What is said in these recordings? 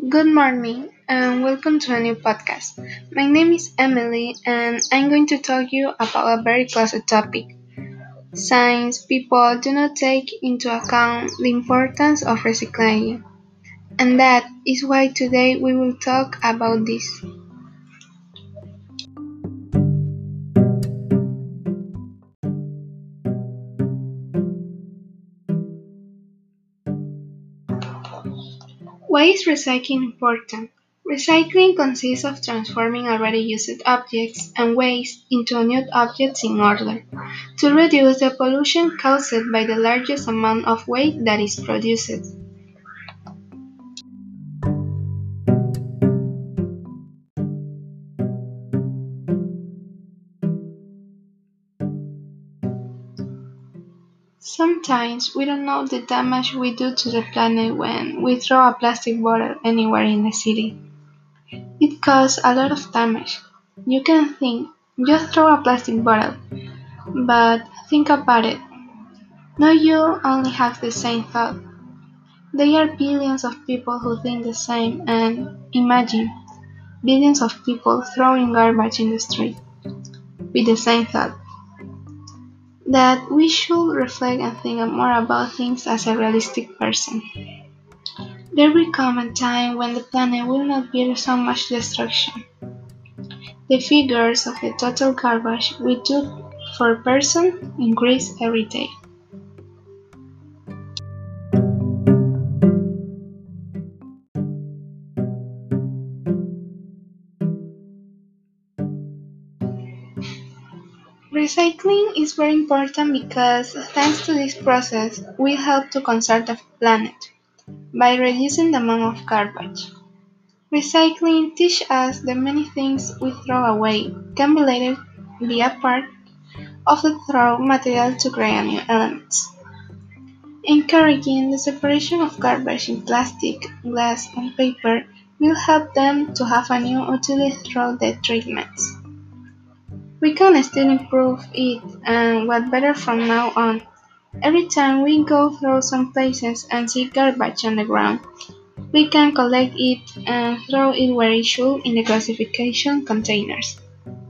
Good morning and welcome to a new podcast. My name is Emily and I'm going to talk you about a very close topic. Since people do not take into account the importance of recycling. And that is why today we will talk about this. Why is recycling important? Recycling consists of transforming already used objects and waste into new objects in order to reduce the pollution caused by the largest amount of waste that is produced. Sometimes we don't know the damage we do to the planet when we throw a plastic bottle anywhere in the city. It causes a lot of damage. You can think, just throw a plastic bottle, but think about it. No, you only have the same thought. There are billions of people who think the same, and imagine billions of people throwing garbage in the street with the same thought. That we should reflect and think more about things as a realistic person. There will come a time when the planet will not bear so much destruction. The figures of the total garbage we do per person increase every day. Recycling is very important because thanks to this process, we help to conserve the planet by reducing the amount of garbage. Recycling teaches us that many things we throw away can be later be a part of the throw material to create new elements. Encouraging the separation of garbage in plastic, glass, and paper will help them to have a new utility through the treatments. We can still improve it and what better from now on. Every time we go through some places and see garbage on the ground, we can collect it and throw it where it should in the classification containers.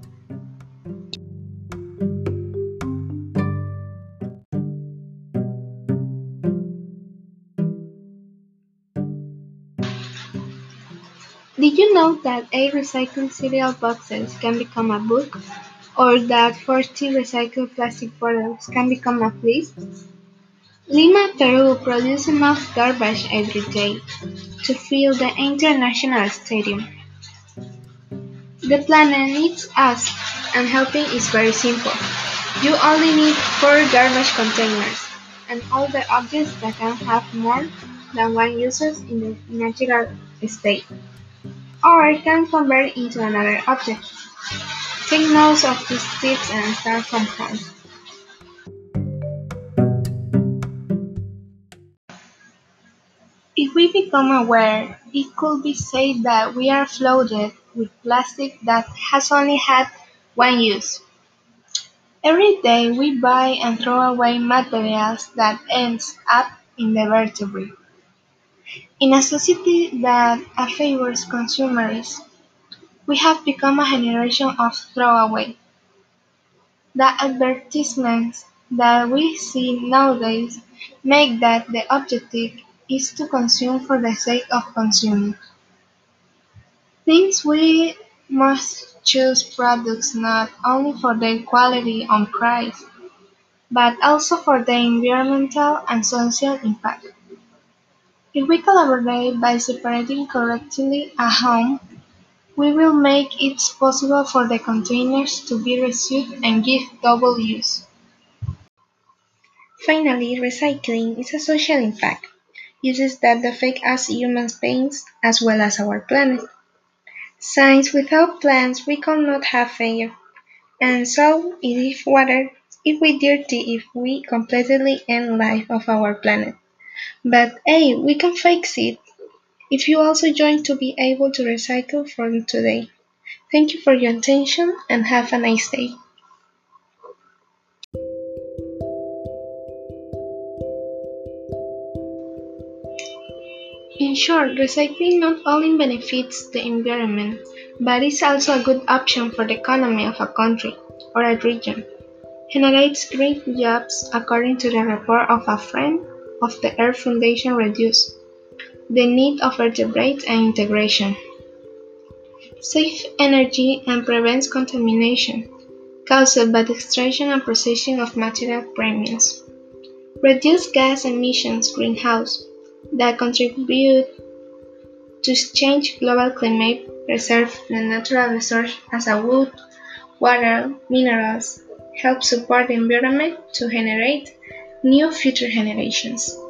Did you know that 8 recycled cereal boxes can become a book? Or that 40 recycled plastic bottles can become a fleece? Lima, Peru produces enough garbage every day to fill the international stadium. The planet needs us, and helping is very simple. You only need 4 garbage containers, and all the objects that can have more than one uses in the natural state, or can convert into another object. Take notes of these tips and start from home. If we become aware, it could be said that we are flooded with plastic that has only had one use. Every day we buy and throw away materials that ends up in the vertebrae. In a society that favors consumerism, we have become a generation of throwaway. The advertisements that we see nowadays make that the objective is to consume for the sake of consuming. Means we must choose products not only for their quality and price, but also for their environmental and social impact. If we collaborate by separating correctly at home, we will make it possible for the containers to be reused and give double use. Finally, recycling is a social impact, uses that affect us human beings as well as our planet. Since without plants we cannot have air, and so if water, if we dirty, if we completely end life of our planet. But hey, we can fix it if you also join to be able to recycle from today. Thank you for your attention and have a nice day. In short, recycling not only benefits the environment, but is also a good option for the economy of a country or a region. Generates great jobs according to the report of a friend of the Earth Foundation reduce the need of vertebrates and integration. Save energy and prevents contamination caused by the extraction and processing of material premiums. Reduce gas emissions greenhouse that contribute to change global climate, preserve the natural resource as a wood, water, minerals, help support the environment to generate new future generations.